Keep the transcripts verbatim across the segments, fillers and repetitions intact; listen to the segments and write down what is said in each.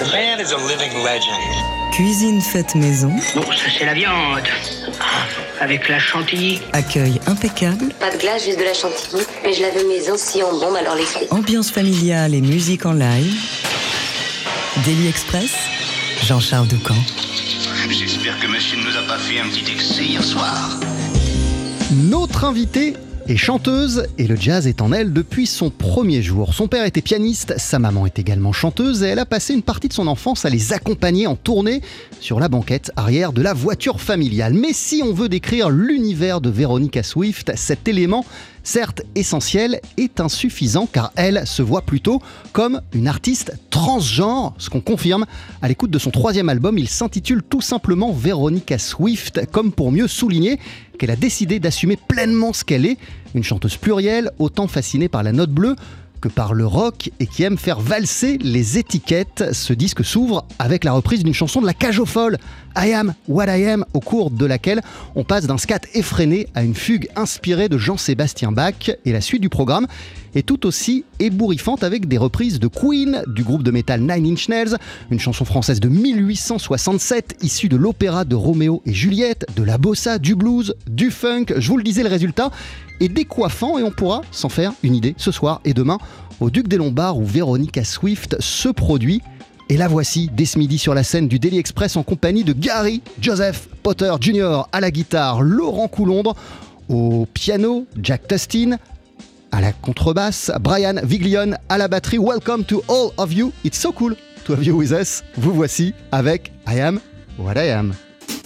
The man is a living legend. Cuisine faite maison. Bon, ça c'est la viande. Avec la chantilly. Accueil impeccable. Pas de glace, juste de la chantilly. Mais je l'avais maison si en bombe, alors les clés. Ambiance familiale et musique en live. Daily Express, Jean-Charles Doucan. J'espère que machine ne nous a pas fait un petit excès hier soir. Notre invitée est chanteuse et le jazz est en elle depuis son premier jour. Son père était pianiste, sa maman est également chanteuse et elle a passé une partie de son enfance à les accompagner en tournée sur la banquette arrière de la voiture familiale. Mais si on veut décrire l'univers de Veronica Swift, cet élément, certes essentiel, est insuffisant car elle se voit plutôt comme une artiste transgenre, ce qu'on confirme à l'écoute de son troisième album. Il s'intitule tout simplement Veronica Swift, comme pour mieux souligner qu'elle a décidé d'assumer pleinement ce qu'elle est, une chanteuse plurielle, autant fascinée par la note bleue que par le rock et qui aime faire valser les étiquettes. Ce disque s'ouvre avec la reprise d'une chanson de la Cage aux Folles, I Am What I Am, au cours de laquelle on passe d'un scat effréné à une fugue inspirée de Jean-Sébastien Bach. Et la suite du programme est tout aussi ébouriffante avec des reprises de Queen, du groupe de métal Nine Inch Nails, une chanson française de mille huit cent soixante-sept issue de l'opéra de Roméo et Juliette, de la bossa, du blues, du funk. Je vous le disais, le résultat est décoiffant et on pourra s'en faire une idée ce soir et demain au Duc des Lombards où Veronica Swift se produit. Et la voici dès ce midi sur la scène du Daily Express en compagnie de Gary Joseph Potter junior à la guitare, Laurent Coulondre au piano, Jack Tustin à la contrebasse, Brian Viglione à la batterie. Welcome to all of you. It's so cool to have you with us. Vous voici avec I Am What I Am.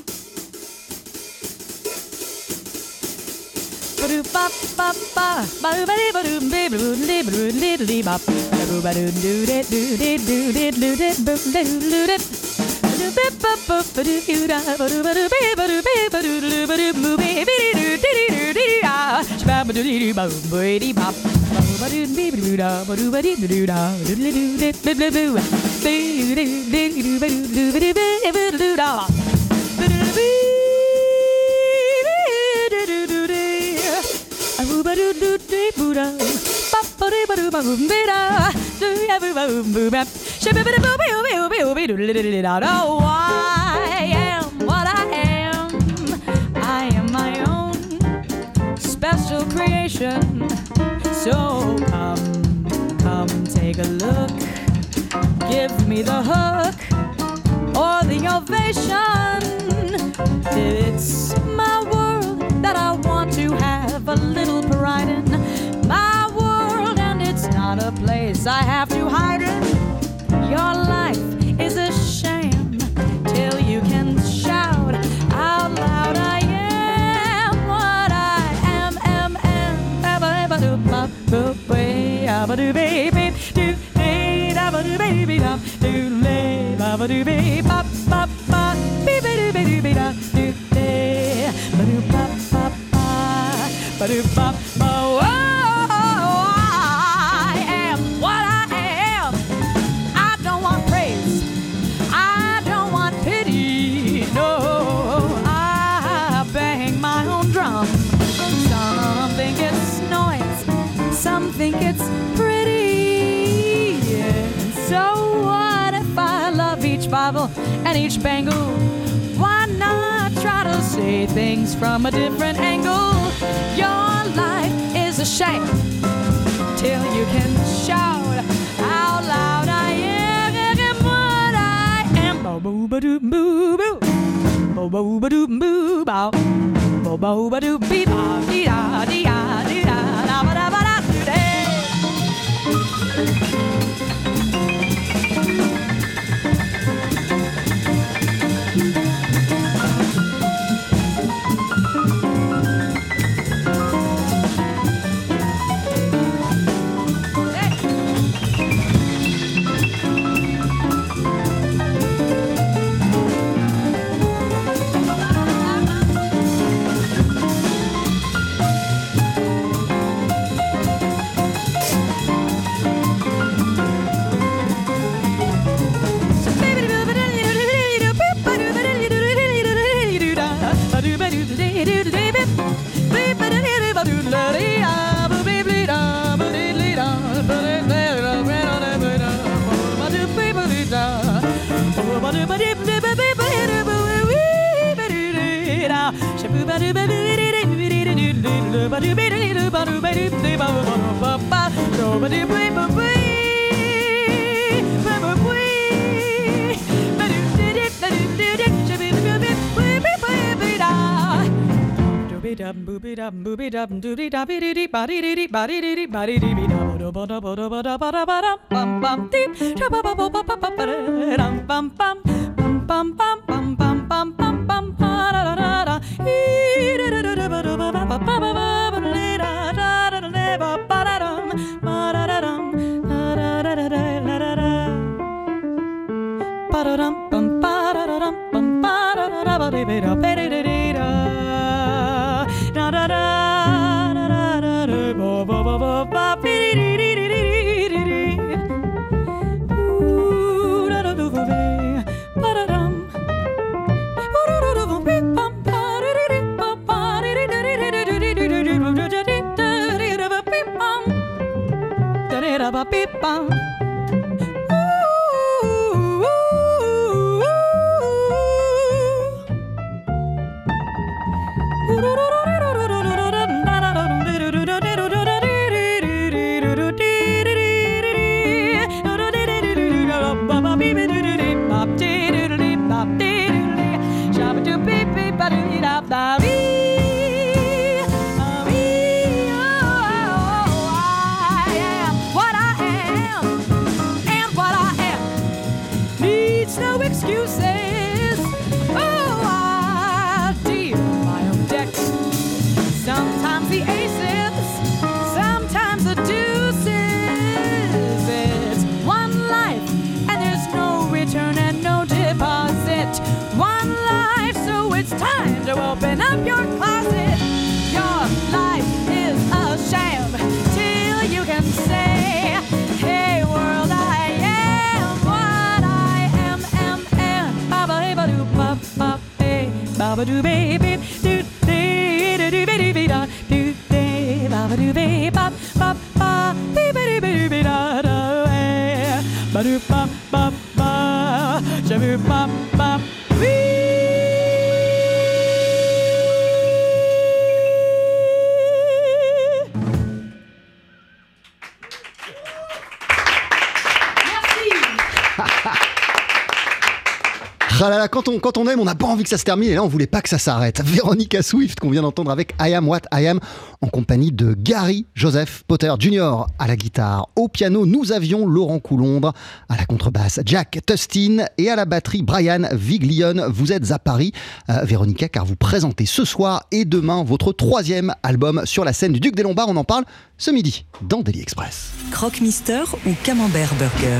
Oh, I am what I am. I am my own special creation. So come, come take a look. Give me the hook or the ovation. It's my world that I want to have a little pride in. My world, and it's not a place I have to hide in. Your life is a shame till you can shout out loud. I am what I am, am, am. Abba, do, ba, bo, way, abba, do, baby, do, day, abba, do, baby, da, do, lay, abba, do, baby, ba, ba, ba, baby, do, baby, do, da, do, day, ba, do, ba, ba, ba, ba, do, ba, ba, oh. Some think it's pretty. So what if I love each Bible and each bangle? Why not try to say things from a different angle? Your life is a shame till you can shout out loud. I am what I am. Bo bo ba doo boo boo. Bo bo ba doo boo bow. Bo bo ba doo bee ba dee da dee da dee da da ba da ba da. Dum booby dum booby dum doody da biddy dee body dee dee body dee dee body dee dee da da da da da da da da da bum bum dee da ba ba ba ba ba ba dum bum bum bum bum bum bum bum bum bum da da da da ee da da da ba da ba ba ba ba ba ba da da da da ba ba da dum ba da da dum da da da da da da da ba da dum bum ba da da dum bum ba da da da ba dee dee da ba dee dee da da da da da da da ba ba ba ba ba dee dee dee dee dee dee dee ooh da da da ba ba da dum ooh da da da ba bum ba dee dee dee ba ba dee dee dee dee dee dee dee dee dee da da da da ba bum da da da ba bum excuses. Oh, I deal my own decks. Sometimes the aces, sometimes the deuces. It's one life, and there's no return and no deposit. One life, so it's time to open up your closet. Your life is a sham till you can say, hey world, I am what I am, am, am. Baba hey ba do ba ba hey, baba do baby do dee do do baby da do dee, baba do baby ba ba ba dee baby baby da da hey, ba do ba ba ba, shabu ba ba. Ah là là, quand on, quand on aime, on n'a pas envie que ça se termine, et là on voulait pas que ça s'arrête. Veronica Swift qu'on vient d'entendre avec I Am What I Am, en compagnie de Gary Joseph Potter junior à la guitare. Au piano, nous avions Laurent Coulondre, à la contrebasse Jack Tustin et à la batterie Brian Viglione. Vous êtes à Paris, euh, Veronica, car vous présentez ce soir et demain votre troisième album sur la scène du Duc des Lombards. On en parle ce midi dans Daily Express. Croque-Mister ou Camembert Burger?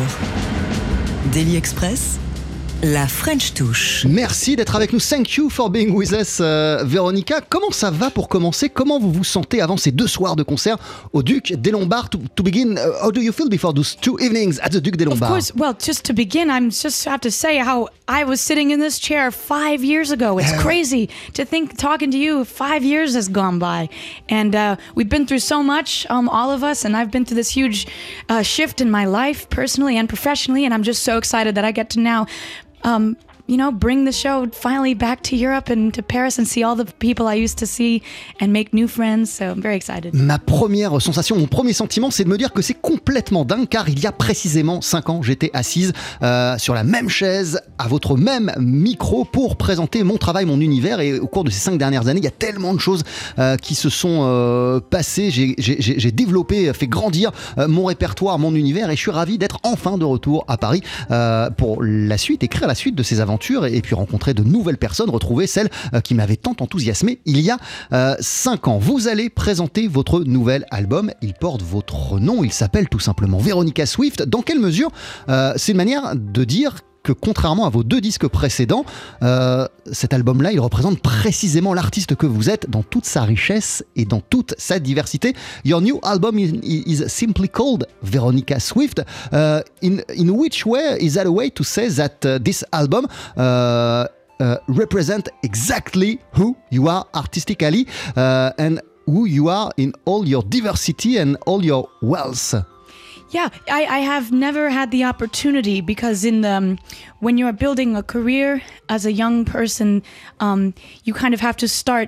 Daily Express, la French touche. Merci d'être avec nous. Thank you for being with us, euh, Veronica. Comment ça va pour commencer? Comment vous vous sentez avant ces deux soirs de concert au Duc des Lombards? To, to begin, uh, how do you feel before those two evenings at the Duc des Lombards? Of course, well, just to begin, I'm just have to say how I was sitting in this chair five years ago. It's crazy to think, talking to you, five years has gone by. And uh, we've been through so much, um, all of us, and I've been through this huge uh, shift in my life, personally and professionally, and I'm just so excited that I get to now Um, you know, bring the show finally back to Europe and to Paris and see all the people I used to see and make new friends. So I'm very excited. Ma première sensation, mon premier sentiment, c'est de me dire que c'est complètement dingue, car il y a précisément cinq ans, j'étais assise euh, sur la même chaise, à votre même micro, pour présenter mon travail, mon univers. Et au cours de ces cinq dernières années, il y a tellement de choses euh, qui se sont euh, passées. J'ai, j'ai, j'ai développé, fait grandir euh, mon répertoire, mon univers, et je suis ravi d'être enfin de retour à Paris euh, pour la suite, écrire la suite de ces aventures. Et puis rencontrer de nouvelles personnes, retrouver celles euh, qui m'avaient tant enthousiasmé il y a euh, cinq ans. Vous allez présenter votre nouvel album, il porte votre nom, il s'appelle tout simplement Veronica Swift. Dans quelle mesure euh, c'est une manière de dire que, contrairement à vos deux disques précédents, euh, cet album-là, il représente précisément l'artiste que vous êtes dans toute sa richesse et dans toute sa diversité. Your new album is, is simply called Veronica Swift. Uh, in, in which way is that a way to say that uh, this album uh, uh, represent exactly who you are artistically uh, and who you are in all your diversity and all your wealth? Yeah, I, I have never had the opportunity, because in the, um, when you're building a career as a young person, um, you kind of have to start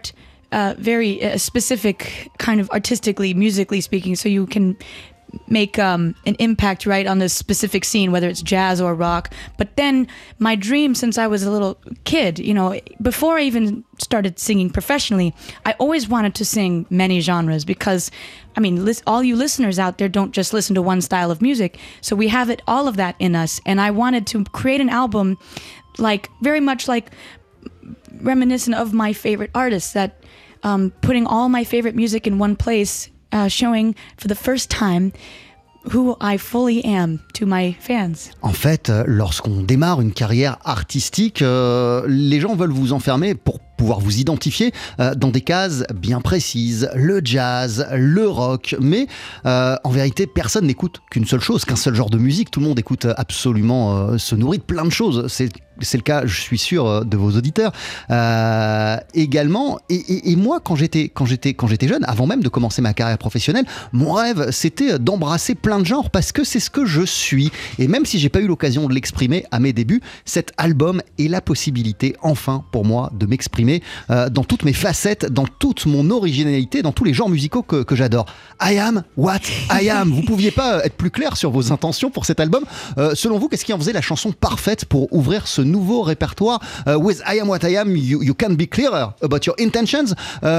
uh, very uh, specific, kind of artistically, musically speaking. So you can make um, an impact right on this specific scene, whether it's jazz or rock. But then my dream since I was a little kid, you know, before I even started singing professionally, I always wanted to sing many genres because, I mean, lis- all you listeners out there don't just listen to one style of music. So we have it, all of that in us. And I wanted to create an album like very much like reminiscent of my favorite artists, that um, putting all my favorite music in one place, Uh, showing for the first time who I fully am to my fans. En fait, euh, lorsqu'on démarre une carrière artistique, euh, les gens veulent vous enfermer pour pouvoir vous identifier euh, dans des cases bien précises, le jazz, le rock, mais euh, en vérité, personne n'écoute qu'une seule chose, qu'un seul genre de musique. Tout le monde écoute absolument, euh, se nourrit de plein de choses. C'est C'est le cas, je suis sûr, de vos auditeurs euh, également. Et, et, et moi, quand j'étais, quand j'étais, quand j'étais jeune, avant même de commencer ma carrière professionnelle, mon rêve, c'était d'embrasser plein de genres parce que c'est ce que je suis. Et même si j'ai pas eu l'occasion de l'exprimer à mes débuts, cet album est la possibilité, enfin, pour moi, de m'exprimer euh, dans toutes mes facettes, dans toute mon originalité, dans tous les genres musicaux que, que j'adore. I am what I am. Vous pouviez pas être plus clair sur vos intentions pour cet album. Euh, selon vous, qu'est-ce qui en faisait la chanson parfaite pour ouvrir ce nouveau répertoire? uh, With I Am What I Am, you, you can be clearer about your intentions.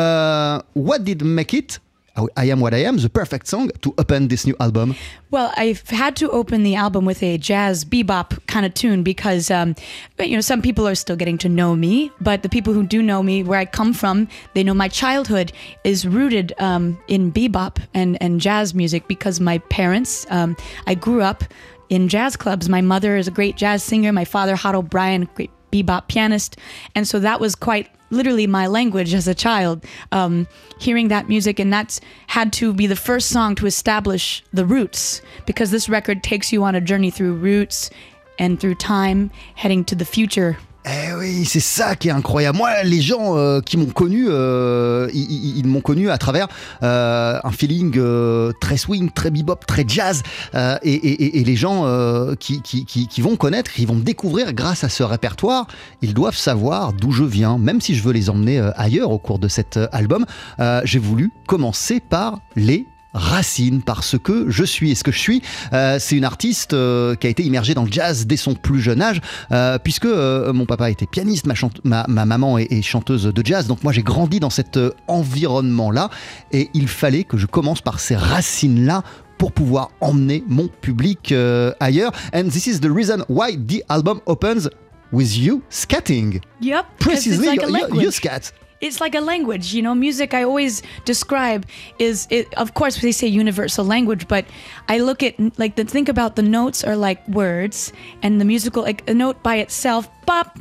Uh, what did make it, I Am What I Am, the perfect song to open this new album? Well, I've had to open the album with a jazz bebop kind of tune because, um, you know, some people are still getting to know me, but the people who do know me, where I come from, they know my childhood is rooted um, in bebop and, and jazz music because my parents, um, I grew up in jazz clubs. My mother is a great jazz singer. My father, Hot O'Brien, great bebop pianist. And so that was quite literally my language as a child, um, hearing that music. And that's had to be the first song to establish the roots, because this record takes you on a journey through roots and through time, heading to the future. Eh oui, c'est ça qui est incroyable. Moi, les gens euh, qui m'ont connu, euh, ils, ils, ils m'ont connu à travers euh, un feeling euh, très swing, très bebop, très jazz. Euh, et, et, et les gens euh, qui, qui, qui, qui vont connaître, qui vont me découvrir grâce à ce répertoire, ils doivent savoir d'où je viens. Même si je veux les emmener euh, ailleurs au cours de cet euh, album, euh, j'ai voulu commencer par les racines, parce que je suis. Et ce que je suis, euh, c'est une artiste euh, qui a été immergée dans le jazz dès son plus jeune âge, euh, puisque euh, mon papa était pianiste, ma, chante- ma, ma maman est, est chanteuse de jazz, donc moi j'ai grandi dans cet euh, environnement-là, et il fallait que je commence par ces racines-là pour pouvoir emmener mon public euh, ailleurs. And this is the reason why the album opens with you scatting. Yep, because it's Precisely, like a you, you, language. you scat. It's like a language, you know. Music I always describe is, it, of course, they say universal language, but I look at like the think about the notes are like words, and the musical, like a note by itself, bop,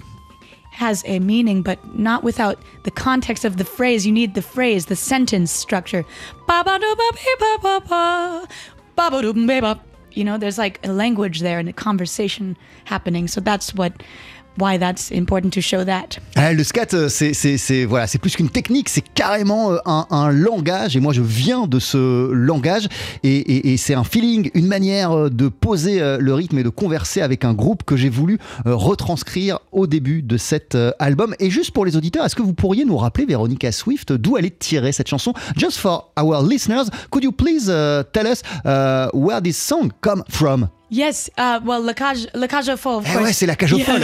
has a meaning, but not without the context of the phrase. You need the phrase, the sentence structure. Ba ba do ba be ba ba ba, ba ba do be ba. You know, there's like a language there and a conversation happening. So that's what. Why that's important to show that. Ah, le scat, c'est, c'est, c'est, voilà, c'est plus qu'une technique, c'est carrément un, un langage. Et moi, je viens de ce langage. Et, et, et c'est un feeling, une manière de poser le rythme et de converser avec un groupe que j'ai voulu retranscrire au début de cet album. Et juste pour les auditeurs, est-ce que vous pourriez nous rappeler, Veronica Swift, d'où elle est tirée cette chanson? Just for our listeners, could you please uh, tell us uh, where this song come from? Yes, uh, well, La Cage, La Cage aux Folles, of Eh course. ouais, c'est La Cage aux Folles.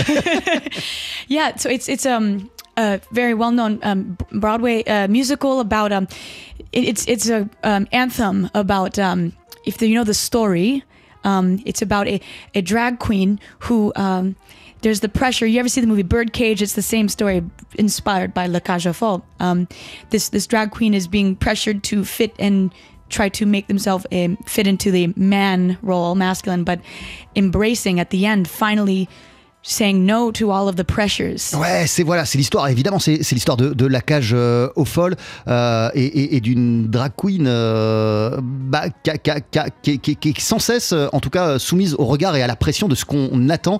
Yeah, so it's it's um a very well known um Broadway uh, musical about um it, it's it's a um, anthem about um if the, you know the story, um it's about a, a drag queen who um there's the pressure. You ever see the movie Birdcage? It's the same story, inspired by La Cage aux Folles. Um, this this drag queen is being pressured to fit and try to make themselves um, fit into the man role, masculine, but embracing at the end, finally saying no to all of the pressures. Ouais, c'est voilà, c'est l'histoire. Évidemment, c'est, c'est l'histoire de, de La Cage euh, aux Folles euh, et, et, et d'une drag queen euh, bah, qui, qui, qui, qui est sans cesse, en tout cas, soumise au regard et à la pression de ce qu'on attend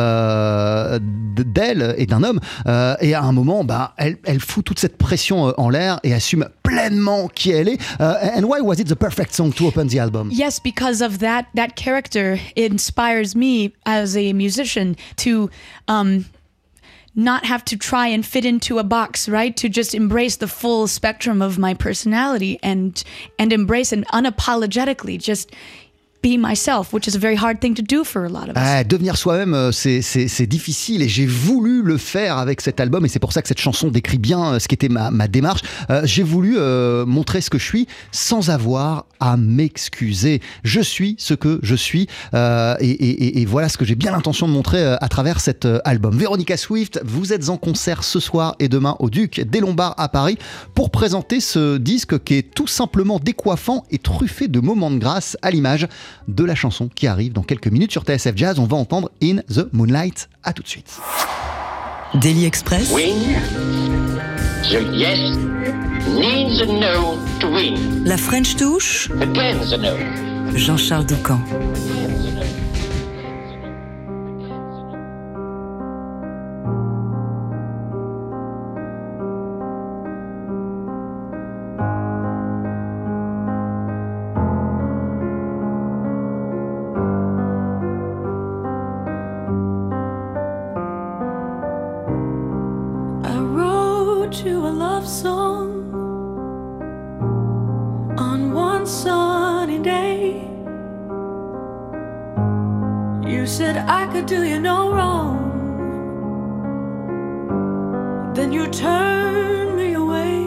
euh, d'elle et d'un homme. Euh, et à un moment, bah, elle, elle fout toute cette pression en l'air et assume pleinement qui elle est. Uh, and why was it the perfect song to open the album? Yes, because of that that character inspires me as a musician to um, not have to try and fit into a box, right? To just embrace the full spectrum of my personality and and embrace it unapologetically, just be myself, which is a very hard thing to do for a lot of us. Ah, devenir soi-même, c'est, c'est, c'est difficile et j'ai voulu le faire avec cet album et c'est pour ça que cette chanson décrit bien ce qu'était ma, ma démarche. Euh, j'ai voulu euh, montrer ce que je suis sans avoir à m'excuser. Je suis ce que je suis euh, et, et, et voilà ce que j'ai bien l'intention de montrer euh, à travers cet euh, album. Véronica Swift, vous êtes en concert ce soir et demain au Duc des Lombards à Paris pour présenter ce disque qui est tout simplement décoiffant et truffé de moments de grâce à l'image de la chanson qui arrive dans quelques minutes sur T S F Jazz. On va entendre In the Moonlight. À tout de suite. Daily Express. Win. The yes needs a no to win. La French Touch. Again the no. Jean-Charles Doucan. You a love song on one sunny day. You said I could do you no wrong. Then you turned me away.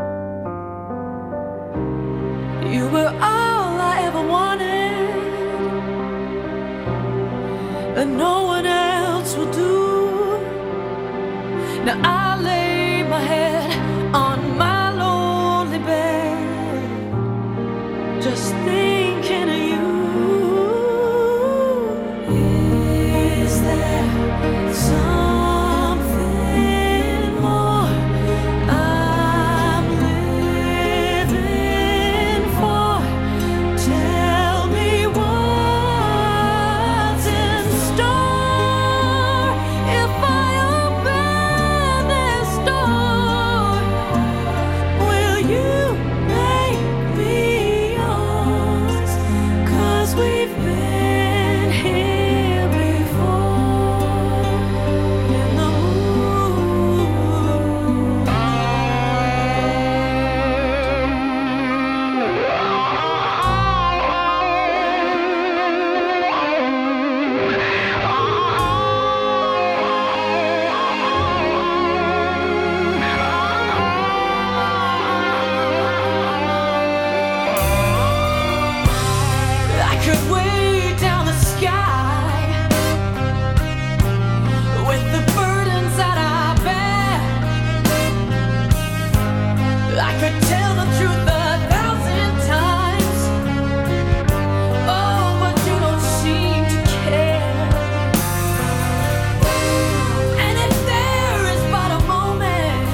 You were all I ever wanted, and no one else will do. Now I lay my head on my lonely bed, just thinking of you. Is there something more I'm living for? Tell me what's in store. If I open this door, will you make me yours? 'Cause we've been here before in the I could way down the sky with the burdens that I bear. I could tell the truth a thousand times. Oh, but you don't seem to care. And if there is but a moment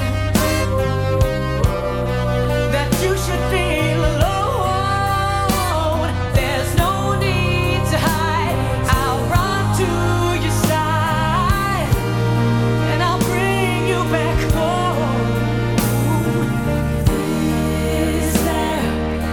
that you should feel alone, there's no need to hide. I'll run to your side and I'll bring you back home. Is there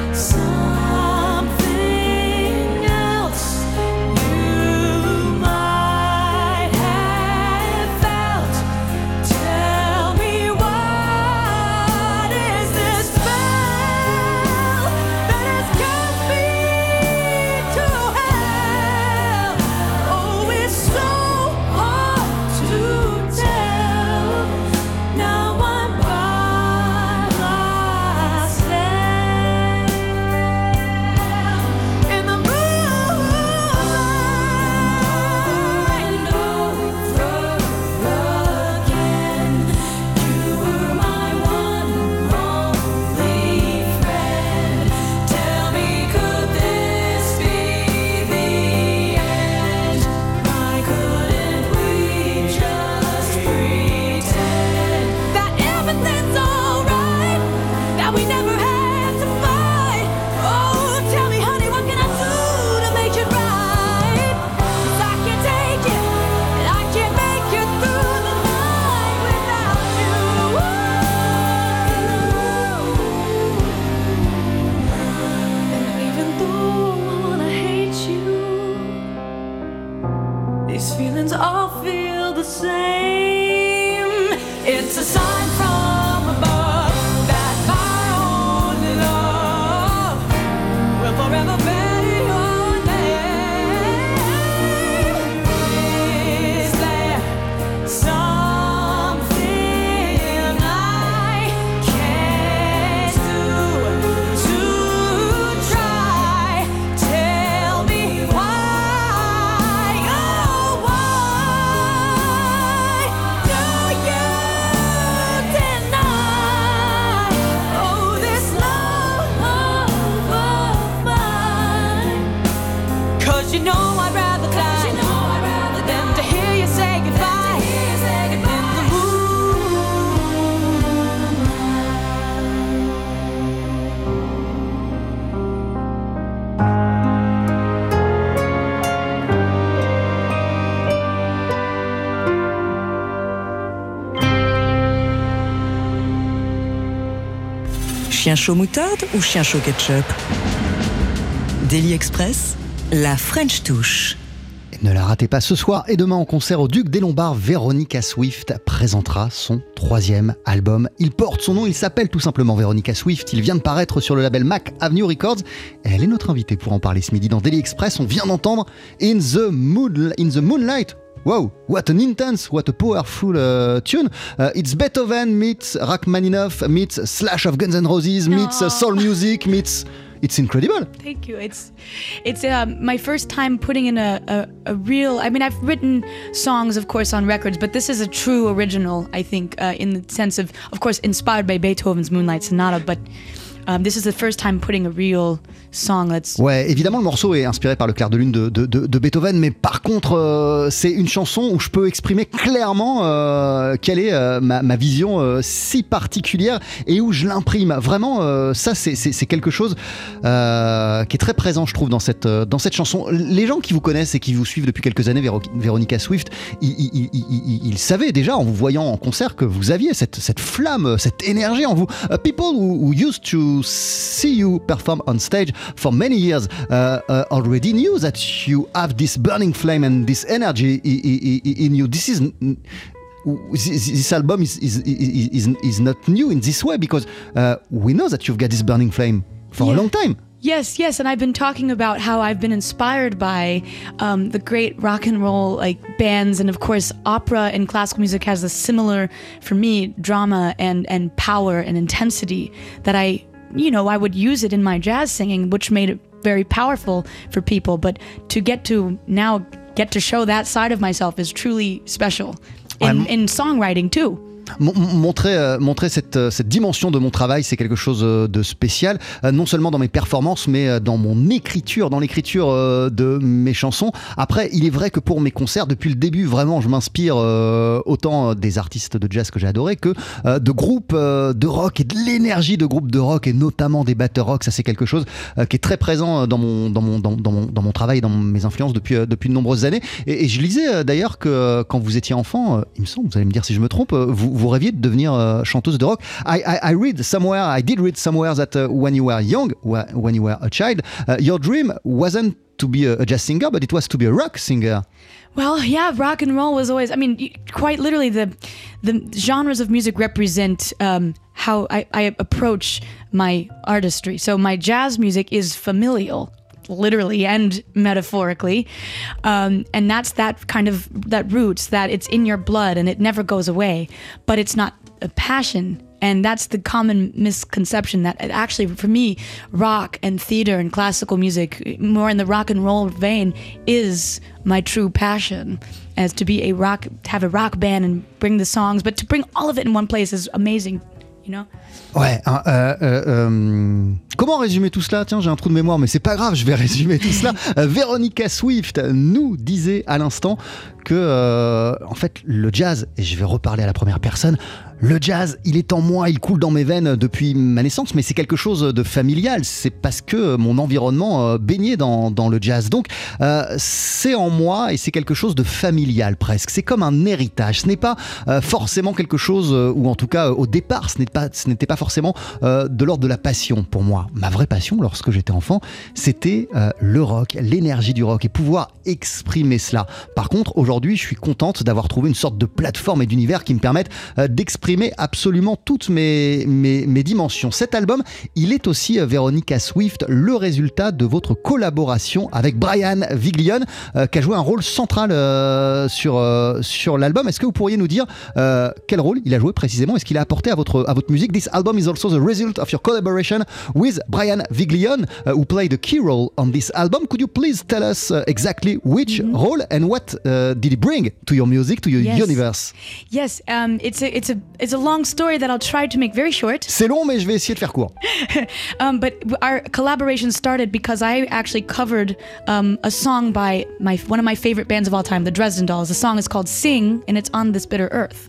something else you might have felt? Tell me, what is this spell that has cast me to hell? Oh, it's so hard to tell. Now I'm by myself in the moonlight over again. You were my one only friend. Tell me, could this be the end? Why couldn't we just pretend that everything's alright? That we never had to fight? Oh, tell me, honey, what can I do to make it right? 'Cause I can't take it, and I can't make it through the night without you. And even though I wanna hate you, these feelings all feel the same. It's a sign from above that my only love will forever bear your name. Is there something I can't do to try? Tell me why, oh why do you deny, oh this love of mine? 'Cause you know I'd rather die than to hear you say goodbye in the Chien chaud moutarde ou chien chaud ketchup? Daily Express, la French touche. Ne la ratez pas ce soir et demain en concert au Duc des Lombards, Veronica Swift présentera son troisième album. Il porte son nom, il s'appelle tout simplement Veronica Swift. Il vient de paraître sur le label Mac Avenue Records et elle est notre invitée pour en parler ce midi dans Daily Express. On vient d'entendre In the, Mood, In the Moonlight. Wow, what an intense, what a powerful uh, tune. Uh, it's Beethoven meets Rachmaninoff meets Slash of Guns N' Roses meets uh, soul music meets... It's incredible. Thank you. It's it's um, my first time putting in a, a, a real... I mean, I've written songs, of course, on records, but this is a true original, I think, uh, in the sense of, of course, inspired by Beethoven's Moonlight Sonata, but um, this is the first time putting a real song that's... Ouais, évidemment, le morceau est inspiré par le clair de lune de, de, de, de Beethoven, mais par contre, euh, c'est une chanson où je peux exprimer clairement euh, quelle est euh, ma, ma vision euh, si particulière et où je l'imprime. Vraiment, euh, ça, c'est, c'est, c'est quelque chose euh, qui est très présent, je trouve, dans cette, euh, dans cette chanson. Les gens qui vous connaissent et qui vous suivent depuis quelques années, Véro- Veronica Swift, ils, ils, ils, ils, ils savaient déjà, en vous voyant en concert, que vous aviez cette, cette flamme, cette énergie en vous. Uh, people who, who used to see you perform on stage for many years uh, uh, already knew that you have this burning flame and this energy i- i- i- in you. This is this, this album is is, is is not new in this way because uh, we know that you've got this burning flame for Yeah. a long time. Yes, yes, and I've been talking about how I've been inspired by um, the great rock and roll like bands, and of course, opera and classical music has a similar, for me, drama and and power and intensity that I, you know, I would use it in my jazz singing, which made it very powerful for people. But to get to now get to show that side of myself is truly special in, I'm- in songwriting too. Mon- Montrer, euh, montrer cette, euh, cette dimension de mon travail, c'est quelque chose euh, de spécial, euh, non seulement dans mes performances, mais euh, dans mon écriture, dans l'écriture euh, de mes chansons. Après, il est vrai que pour mes concerts, depuis le début, vraiment, je m'inspire euh, autant des artistes de jazz que j'ai adorés que euh, de groupes euh, de rock et de l'énergie de groupes de rock et notamment des batteurs rock. Ça, c'est quelque chose euh, qui est très présent dans mon, dans mon, dans, dans mon, dans mon travail, dans mes influences depuis, euh, depuis de nombreuses années. Et, et je lisais euh, d'ailleurs que euh, quand vous étiez enfant, euh, il me semble, vous allez me dire si je me trompe, euh, vous, vous rêviez de devenir euh, chanteuse de rock. I, I, I read somewhere, I did read somewhere that uh, when you were young, wh- when you were a child, uh, your dream wasn't to be a, a jazz singer, but it was to be a rock singer. Well, yeah, rock and roll was always, I mean, y- quite literally the the genres of music represent um, how I, I approach my artistry. So my jazz music is familial, literally and metaphorically. Um, and that's that kind of, that roots, that it's in your blood and it never goes away, but it's not a passion. And that's the common misconception that it actually, for me, rock and theater and classical music, more in the rock and roll vein, is my true passion. As to be a rock, to have a rock band and bring the songs, but to bring all of it in one place is amazing, you know? Ouais, euh, euh, euh, comment résumer tout cela? Tiens, j'ai un trou de mémoire, mais c'est pas grave, je vais résumer tout cela. Euh, Veronica Swift nous disait à l'instant que, euh, en fait, le jazz, et je vais reparler à la première personne, le jazz, il est en moi, il coule dans mes veines depuis ma naissance, mais c'est quelque chose de familial. C'est parce que mon environnement euh, baignait dans, dans le jazz. Donc, euh, c'est en moi et c'est quelque chose de familial presque. C'est comme un héritage. Ce n'est pas euh, forcément quelque chose, euh, ou en tout cas, euh, au départ, ce n'est pas, ce n'était pas forcément euh, de l'ordre de la passion pour moi. moi, ma vraie passion lorsque j'étais enfant, c'était euh, le rock, l'énergie du rock et pouvoir exprimer cela. Par contre, aujourd'hui, je suis contente d'avoir trouvé une sorte de plateforme et d'univers qui me permettent euh, d'exprimer absolument toutes mes, mes, mes dimensions. Cet album, il est aussi, euh, Véronica Swift, le résultat de votre collaboration avec Brian Viglione, euh, qui a joué un rôle central euh, sur, euh, sur l'album. Est-ce que vous pourriez nous dire euh, quel rôle il a joué précisément? Est-ce qu'il a apporté à votre, à votre musique? This album is also the result of your collaboration with Brian Viglione, uh, who played a key role on this album. Could you please tell us uh, exactly which mm-hmm. role and what uh, did he bring to your music, to your yes. universe? Yes, um, it's a it's a it's a long story that I'll try to make very short. C'est long, mais je vais essayer de faire court. um, but our collaboration started because I actually covered um, a song by my one of my favorite bands of all time, the Dresden Dolls. The song is called "Sing," and it's on This Bitter Earth.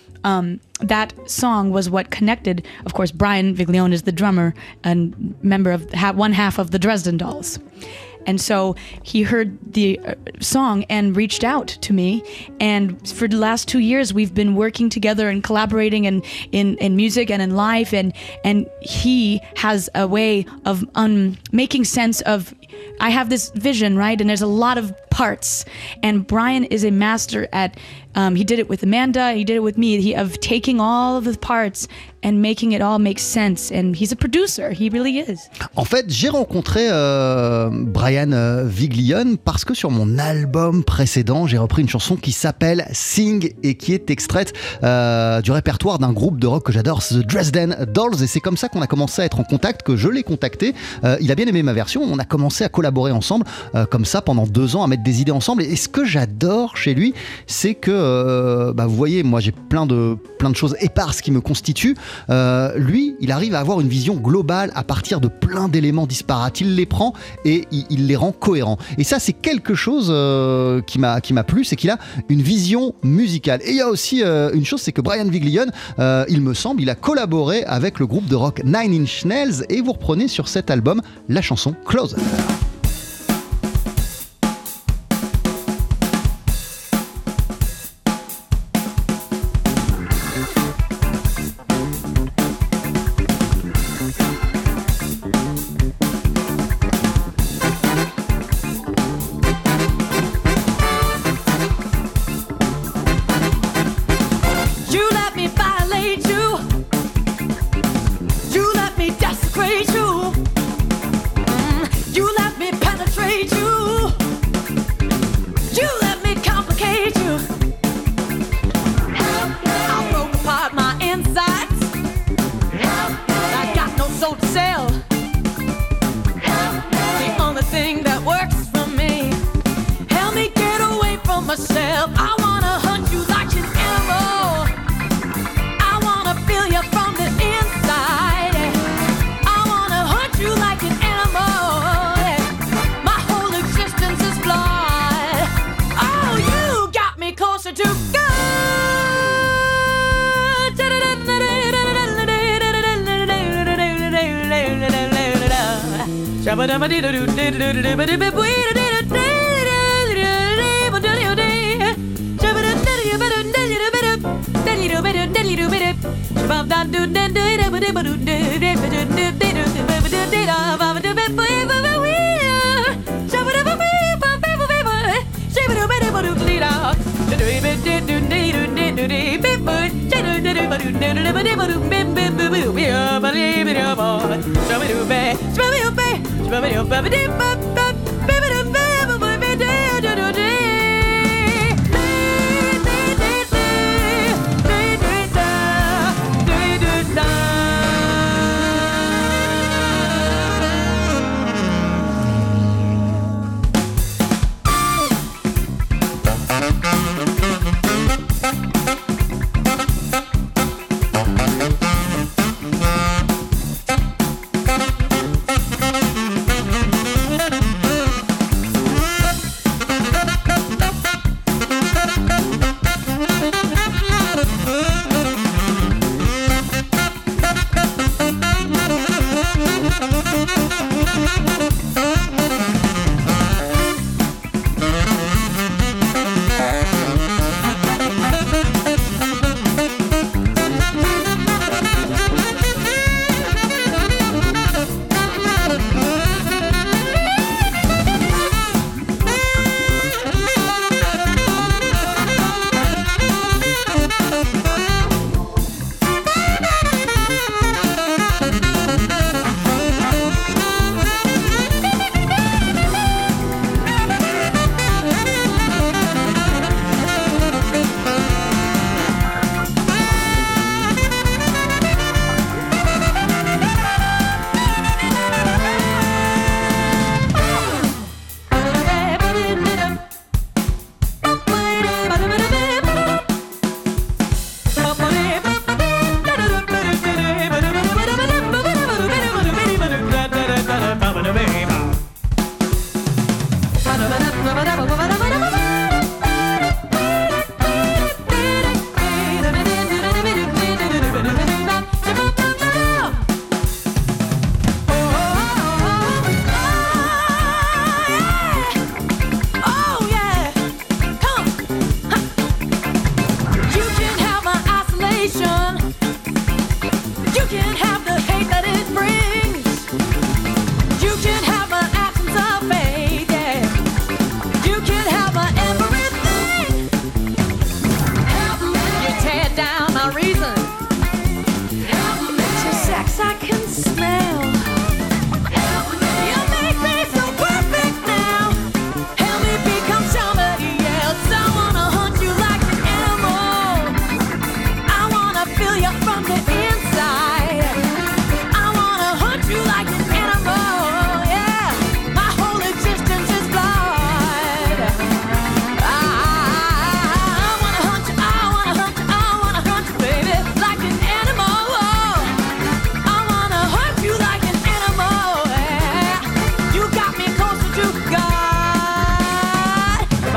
Um, that song was what connected. Of course, Brian Viglione is the drummer and member of ha- one half of the Dresden Dolls. And so he heard the uh, song and reached out to me. And for the last two years, we've been working together and collaborating in, in, in music and in life. And, and he has a way of um, making sense of, I have this vision, right? And there's a lot of parts. And Brian is a master at, um, he did it with Amanda, he did it with me, he, of taking all of the parts and making it all make sense. And he's a producer, he really is. En fait, j'ai rencontré euh, Brian euh, Viglione parce que sur mon album précédent, j'ai repris une chanson qui s'appelle Sing et qui est extraite euh, du répertoire d'un groupe de rock que j'adore, The Dresden Dolls. Et c'est comme ça qu'on a commencé à être en contact, que je l'ai contacté. Euh, il a bien aimé ma version, on a commencé à collaborer ensemble euh, comme ça pendant deux ans, à mettre des idées ensemble. Et ce que j'adore chez lui, c'est que, euh, bah, vous voyez, moi j'ai plein de, plein de choses éparses qui me constituent. Euh, lui, il arrive à avoir une vision globale à partir de plein d'éléments disparates. Il les prend et il, il les rend cohérents. Et ça, c'est quelque chose euh, qui m'a, qui m'a plu, c'est qu'il a une vision musicale. Et il y a aussi euh, une chose, c'est que Brian Viglione, euh, il me semble, il a collaboré avec le groupe de rock Nine Inch Nails et vous reprenez sur cet album la chanson Closer.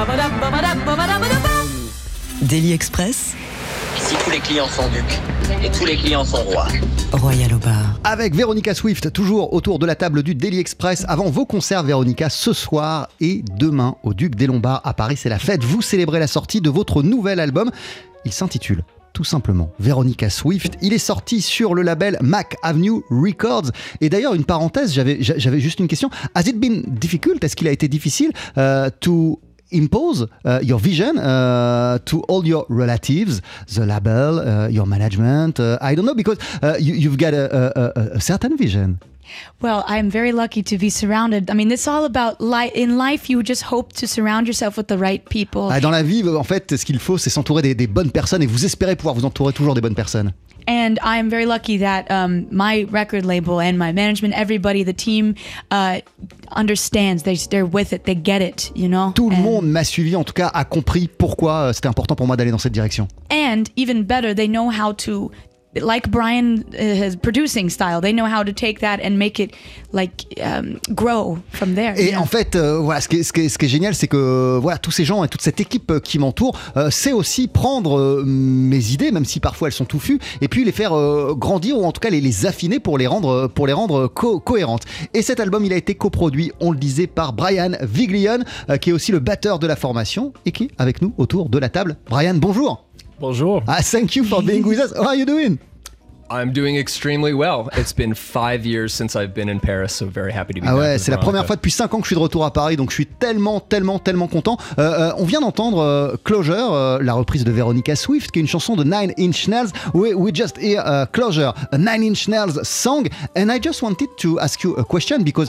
Daily Express, Ici, tous les clients sont ducs et tous les clients sont rois. Royal au bar. Avec Véronica Swift, toujours autour de la table du Daily Express. Avant vos concerts, Véronica, ce soir et demain au Duc des Lombards à Paris, c'est la fête. Vous célébrez la sortie de votre nouvel album. Il s'intitule tout simplement Véronica Swift. Il est sorti sur le label Mac Avenue Records. Et d'ailleurs, une parenthèse, j'avais, j'avais juste une question. Has it been difficult? Est-ce qu'il a été difficile uh, to impose uh, your vision uh, to all your relatives, the label, uh, your management? Uh, I don't know, because uh, you, you've got a, a, a certain vision. Well, I'm very lucky to be surrounded. I mean, it's all about life. In life, you just hope to surround yourself with the right people. Ah, dans la vie, en fait, ce qu'il faut, c'est s'entourer des, des bonnes personnes, et vous espérez pouvoir vous entourer toujours des bonnes personnes. And I'm very lucky that um, my record label and my management, everybody, the team, uh, understands. They, they're with it. They get it, you know. Tout le and, monde m'a suivi, en tout cas, a compris pourquoi c'était important pour moi d'aller dans cette direction. And even better, they know how to. Like Brian, uh, his producing style, they know how to take that and make it like um, grow from there. Et you know? en fait, euh, voilà, ce qui est, ce qui est, ce qui est génial, c'est que voilà, tous ces gens et toute cette équipe qui m'entoure, euh, c'est aussi prendre euh, mes idées, même si parfois elles sont touffues, et puis les faire euh, grandir ou en tout cas les, les affiner pour les rendre, pour les rendre co- cohérentes. Et cet album, il a été coproduit, on le disait, par Brian Viglione, euh, qui est aussi le batteur de la formation et qui est avec nous autour de la table. Brian, bonjour. Bonjour. Ah, thank you for being with us. How are you doing? I'm doing extremely well. It's been five years since I've been in Paris, so very happy to be ah back. ouais, with c'est la Veronica. première fois depuis cinq ans que je suis de retour à Paris, donc je suis tellement, tellement, tellement content. Euh, euh, on vient d'entendre euh, Closure, euh, la reprise de Véronica Swift, qui est une chanson de Nine Inch Nails. We, we just hear uh, Closure, a Nine Inch Nails song, and I just wanted to ask you a question because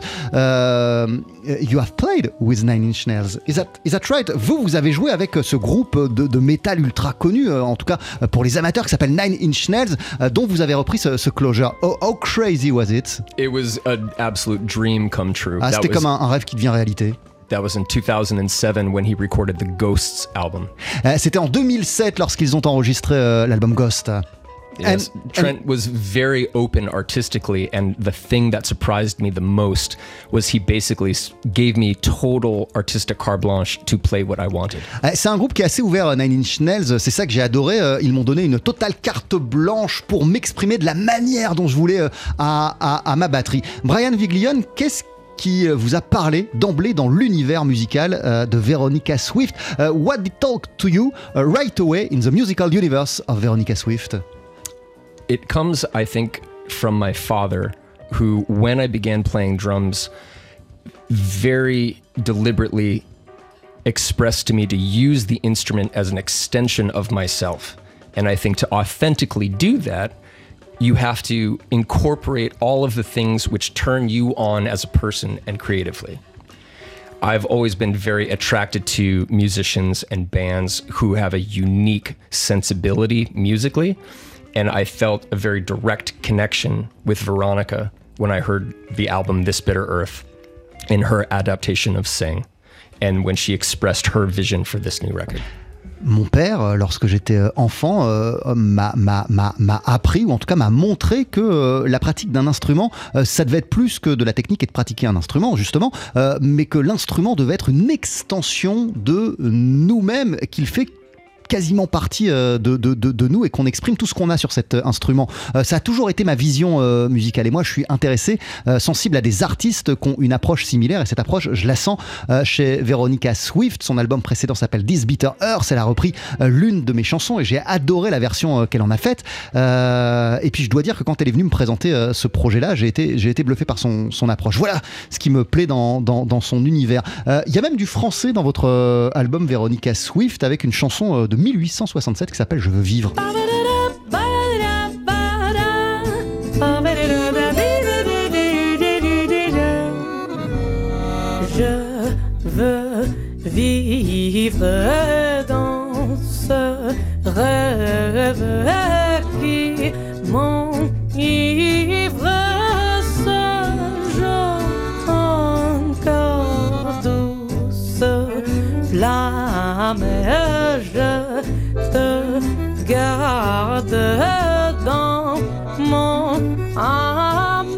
uh, you have played with Nine Inch Nails. Is that, is that right? Vous, vous avez joué avec ce groupe de, de métal ultra connu, euh, en tout cas pour les amateurs, qui s'appelle Nine Inch Nails, euh, dont vous avez repris ce, ce Closure. How, how crazy was it? It was an absolute dream come true. Ah, That c'était was- comme un, un rêve qui devient réalité. That was in two thousand seven when he recorded the Ghosts album. Euh, C'était en deux mille sept lorsqu'ils ont enregistré euh, l'album Ghost. Yes, And- Trent was very open artistically, and the thing that surprised me the most was he basically s- gave me total artistic carte blanche to play what I wanted. Euh, C'est un groupe qui est assez ouvert, euh, Nine Inch Nails, c'est ça que j'ai adoré. euh, Ils m'ont donné une totale carte blanche pour m'exprimer de la manière dont je voulais euh, à, à, à ma batterie. Brian Viglione, qu'est-ce qui euh, vous a parlé d'emblée dans l'univers musical euh, de Véronica Swift? Uh, What did talk to you uh, right away in the musical universe of Véronica Swift? It comes, I think, from my father, who, when I began playing drums, very deliberately expressed to me to use the instrument as an extension of myself. And I think to authentically do that, you have to incorporate all of the things which turn you on as a person and creatively. I've always been very attracted to musicians and bands who have a unique sensibility musically, and I felt a very direct connection with Veronica when I heard the album This Bitter Earth in her adaptation of Sing, and when she expressed her vision for this new record. Mon père, euh, lorsque j'étais euh, enfant, euh, m'a, m'a, m'a, m'a appris, ou en tout cas m'a montré que euh, la pratique d'un instrument, euh, ça devait être plus que de la technique et de pratiquer un instrument, justement, euh, mais que l'instrument devait être une extension de nous-mêmes, qu'il fait quasiment partie euh, de, de, de, de nous et qu'on exprime tout ce qu'on a sur cet euh, instrument. Euh, ça a toujours été ma vision euh, musicale et moi je suis intéressé, euh, sensible à des artistes qui ont une approche similaire et cette approche je la sens euh, chez Véronica Swift. Son album précédent s'appelle This Bitter Earth, elle a repris euh, l'une de mes chansons et j'ai adoré la version euh, qu'elle en a faite euh, et puis je dois dire que quand elle est venue me présenter euh, ce projet là j'ai été, j'ai été bluffé par son, son approche. Voilà ce qui me plaît dans, dans, dans son univers. Il euh, y a même du français dans votre euh, album Véronica Swift avec une chanson euh, de mille huit cent soixante-sept qui s'appelle Je veux vivre. Je veux vivre dans ce rêve qui m'enivre, ce jour encore douce flamme. Je te garde dans mon âme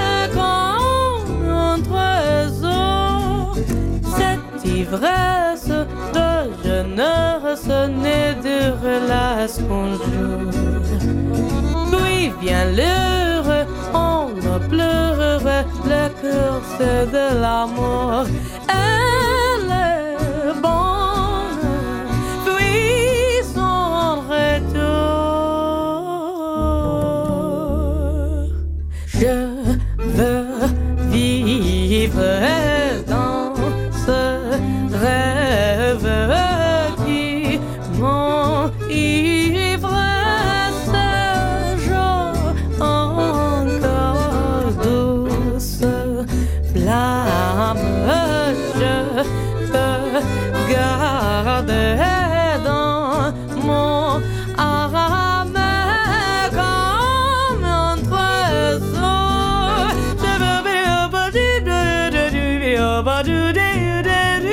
comme un trésor. Cette ivresse de jeunesse née de relations jour. Puis vient l'heure, on ne pleure, le cœur c'est de l'amour. Elle est bonne, puis son retour. Je veux vivre dans ce rêve qui m'enivre. Ce jour encore douce flamme, je peux garder dans mon âme comme un trésor. Je veux vivre du du du vivre du du du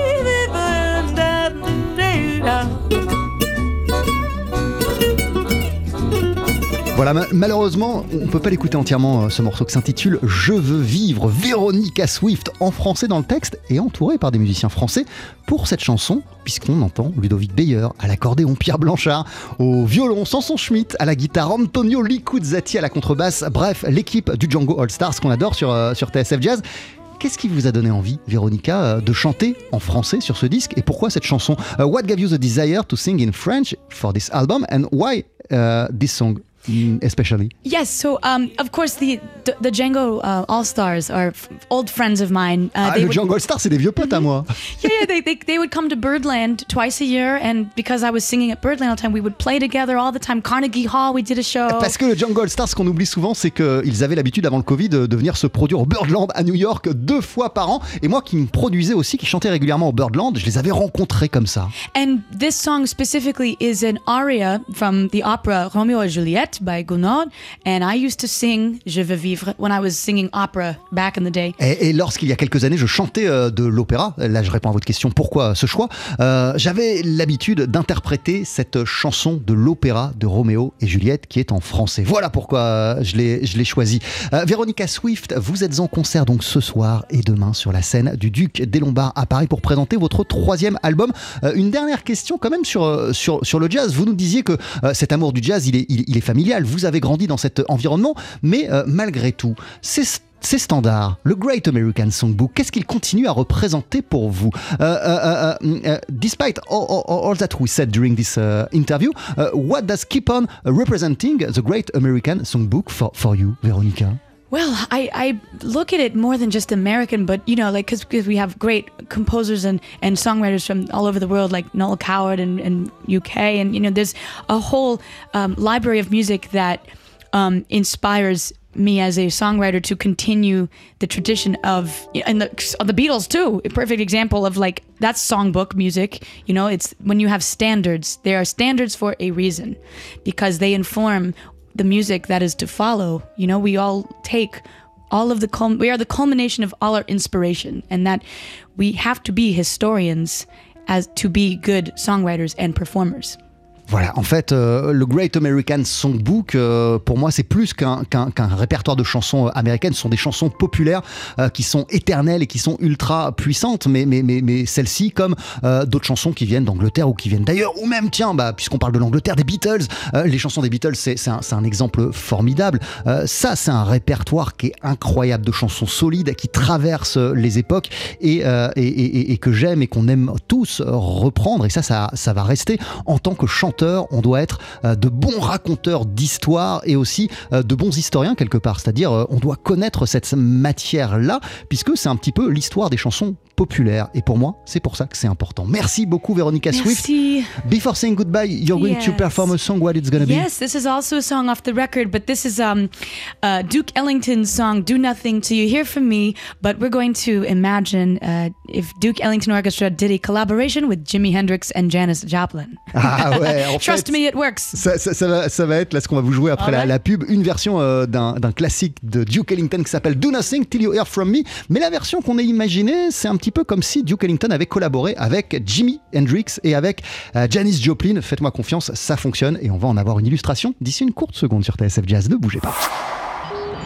Voilà, ma- malheureusement, on ne peut pas l'écouter entièrement, euh, ce morceau qui s'intitule « Je veux vivre ». Véronica Swift, en français dans le texte, et entourée par des musiciens français pour cette chanson, puisqu'on entend Ludovic Beyer à l'accordéon, Pierre Blanchard au violon, Samson Schmidt à la guitare, Antonio Licuzzati à la contrebasse, bref, l'équipe du Django All Stars qu'on adore sur, euh, sur T S F Jazz. Qu'est-ce qui vous a donné envie, Véronica, euh, de chanter en français sur ce disque, et pourquoi cette chanson? uh, What gave you the desire to sing in French for this album, and why uh, this song especially? Yes, so um, of course the the, the Django uh, All Stars are f- old friends of mine. Uh, Ah, they le would- Django All Stars, c'est des vieux potes à moi. Yeah, yeah, they, they they would come to Birdland twice a year, and because I was singing at Birdland all the time, we would play together all the time. Carnegie Hall, we did a show. Parce que le Django All Stars, ce qu'on oublie souvent, c'est qu'ils avaient l'habitude avant le Covid de venir se produire au Birdland à New York deux fois par an. Et moi qui me produisais aussi, qui chantais régulièrement au Birdland, je les avais rencontrés comme ça. And this song specifically is an aria from the opera Romeo et Juliette by Gounod, and I used to sing Je veux vivre when I was singing opera back in the day. Et, et lorsqu'il y a quelques années, je chantais euh, de l'opéra, là je réponds à votre question, pourquoi ce choix, euh, j'avais l'habitude d'interpréter cette chanson de l'opéra de Roméo et Juliette qui est en français. Voilà pourquoi euh, je l'ai, je l'ai choisi. Euh, Véronica Swift, vous êtes en concert donc ce soir et demain sur la scène du Duc des Lombards à Paris pour présenter votre troisième album. Euh, une dernière question quand même sur, euh, sur, sur le jazz. Vous nous disiez que euh, cet amour du jazz, il est, il, il est familial. Vous avez grandi dans cet environnement, mais euh, malgré tout, c'est ces standards, le Great American Songbook, qu'est-ce qu'il continue à représenter pour vous? uh, uh, uh, uh, Despite all, all, all that we said during this uh, interview, uh, what does keep on representing the Great American Songbook for, for you, Veronica? Well, I, I look at it more than just American, but, you know, like, because we have great composers and, and songwriters from all over the world, like Noel Coward and, and U K, and, you know, there's a whole um, library of music that um, inspires me as a songwriter to continue the tradition of, and the, of the Beatles too, a perfect example of, like, that's songbook music. You know, it's when you have standards, there are standards for a reason, because they inform the music that is to follow. You know, we all take all of the cul- we are the culmination of all our inspiration, and that we have to be historians as to be good songwriters and performers. Voilà, en fait, euh, le Great American Songbook, euh, pour moi, c'est plus qu'un, qu'un, qu'un répertoire de chansons américaines. Ce sont des chansons populaires euh, qui sont éternelles et qui sont ultra puissantes, mais, mais, mais, mais celles-ci, comme euh, d'autres chansons qui viennent d'Angleterre ou qui viennent d'ailleurs, ou même, tiens, bah, puisqu'on parle de l'Angleterre, des Beatles, euh, les chansons des Beatles, c'est, c'est, un, c'est un exemple formidable. Euh, ça, c'est un répertoire qui est incroyable, de chansons solides qui traversent les époques et, euh, et, et, et que j'aime et qu'on aime tous reprendre. Et ça, ça, ça va rester en tant que chanteur. On doit être euh, de bons raconteurs d'histoire et aussi euh, de bons historiens quelque part, c'est-à-dire euh, on doit connaître cette matière-là puisque c'est un petit peu l'histoire des chansons populaires et pour moi c'est pour ça que c'est important. Merci beaucoup Véronica Swift. Merci. Before saying goodbye, you're going Yes. to perform a song. What it's going to be? Yes, this is also a song off the record, but this is um, uh, Duke Ellington's song "Do Nothing Till You Hear From Me." But we're going to imagine uh, if Duke Ellington Orchestra did a collaboration with Jimi Hendrix and Janis Joplin. Ah ouais, en Trust fait, me, it works. Ça, ça, ça, va, ça va être là ce qu'on va vous jouer après la, Alright. la pub, une version euh, d'un, d'un classique de Duke Ellington qui s'appelle Do Nothing Till You Hear From Me. Mais la version qu'on a imaginée, c'est un petit peu comme si Duke Ellington avait collaboré avec Jimi Hendrix et avec euh, Janis Joplin. Faites-moi confiance, ça fonctionne et on va en avoir une illustration d'ici une courte seconde sur T S F Jazz. Ne bougez pas.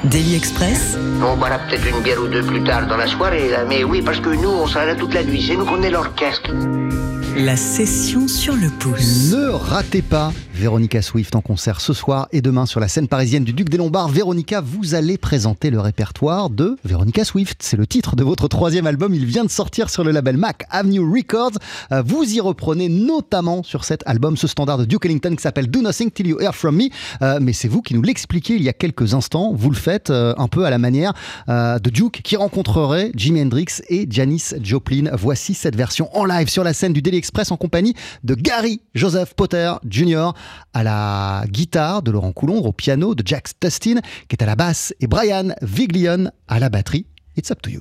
Daily Express, On boira peut-être une bière ou deux plus tard dans la soirée, là. Mais oui, parce que nous, on sera là toute la nuit. C'est nous qu'on est l'orchestre. la session sur le pouce. Ne ratez pas Véronica Swift en concert ce soir et demain sur la scène parisienne du Duc des Lombards. Véronica, vous allez présenter le répertoire de Véronica Swift. C'est le titre de votre troisième album. Il vient de sortir sur le label Mac Avenue Records. Euh, vous y reprenez notamment sur cet album ce standard de Duke Ellington qui s'appelle Do Nothing Till You Hear From Me. Euh, mais c'est vous qui nous l'expliquiez il y a quelques instants. Vous le faites euh, un peu à la manière euh, de Duke qui rencontrerait Jimi Hendrix et Janis Joplin. Voici cette version en live sur la scène du Daily Express en compagnie de Gary Joseph Potter junior à la guitare, de Laurent Coulondre au piano, de Jack Tustin qui est à la basse et Brian Viglione à la batterie. It's up to you.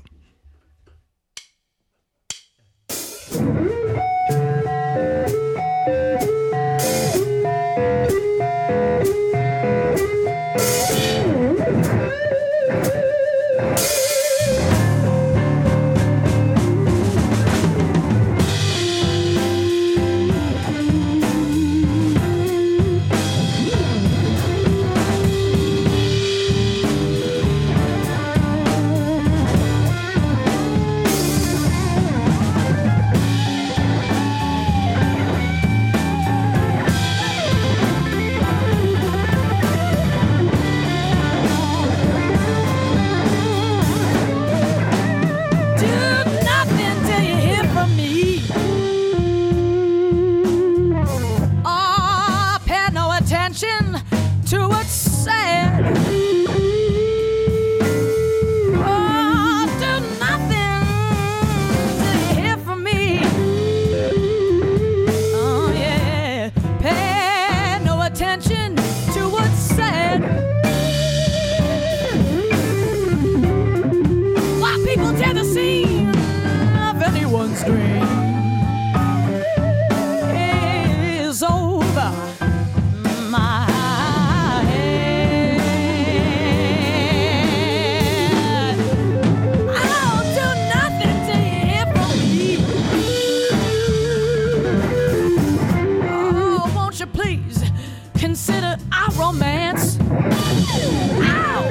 Consider our romance. Ow!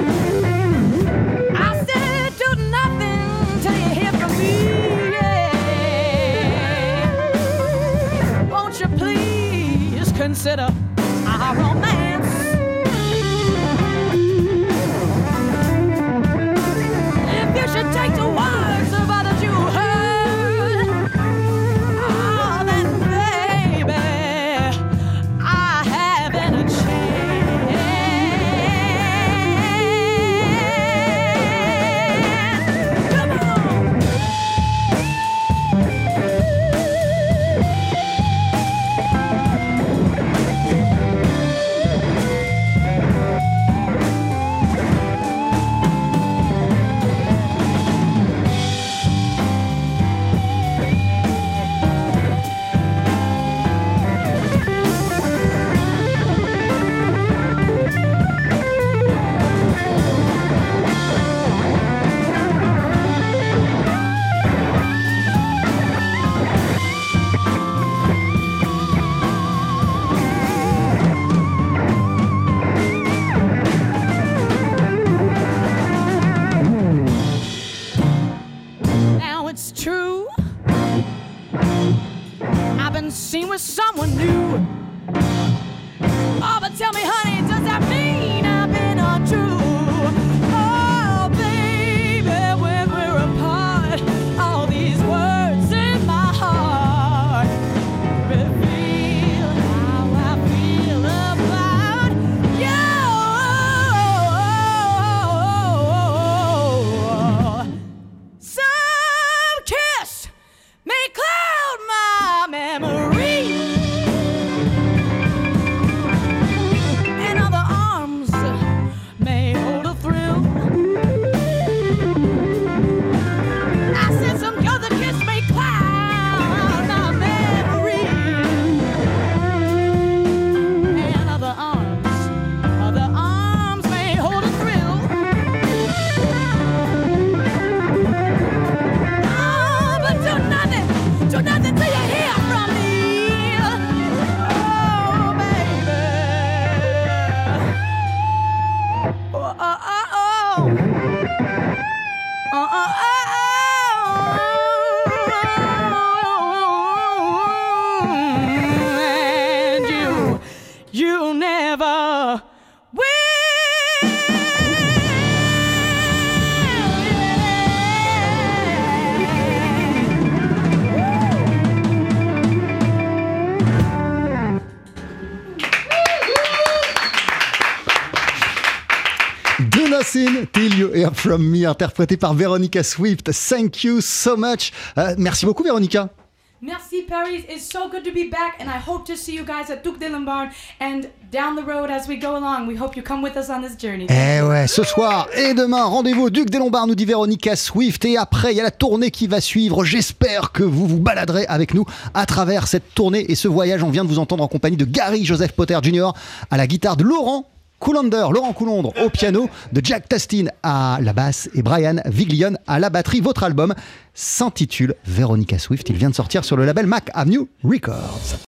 I said do nothing till you hear from me. Yeah. Won't you please consider our romance? If you should take the words of others you heard, oh, then baby, I haven't a chance. Come on! Now it's true, I've been seen with someone new. Oh, but tell me, honey, does that mean I've been untrue? Oh, baby, when we're apart, all these words in my heart reveal how I feel about you. Some kiss may cloud my memory, and other arms may hold a thrill. I said some other kiss may cloud my memory, and other arms, other arms may hold a thrill. Oh, but do nothing, do nothing till you hear from me. Oh, baby. Oh, oh, oh, Listen Till You Hear From Me, interprété par Veronica Swift. Thank you so much. Euh, merci beaucoup, Veronica. Merci Paris, it's so good to be back and I hope to see you guys at Duc des Lombards and down the road as we go along. We hope you come with us on this journey. Eh ouais, ce soir et demain, rendez-vous au Duc des Lombards, nous dit Veronica Swift. Et après, il y a la tournée qui va suivre. J'espère que vous vous baladerez avec nous à travers cette tournée et ce voyage. On vient de vous entendre en compagnie de Gary Joseph Potter junior à la guitare, de Laurent Coulander, Laurent Coulondre au piano, de Jack Tastin à la basse et Brian Viglione à la batterie. Votre album s'intitule Veronica Swift. Il vient de sortir sur le label Mac Avenue Records.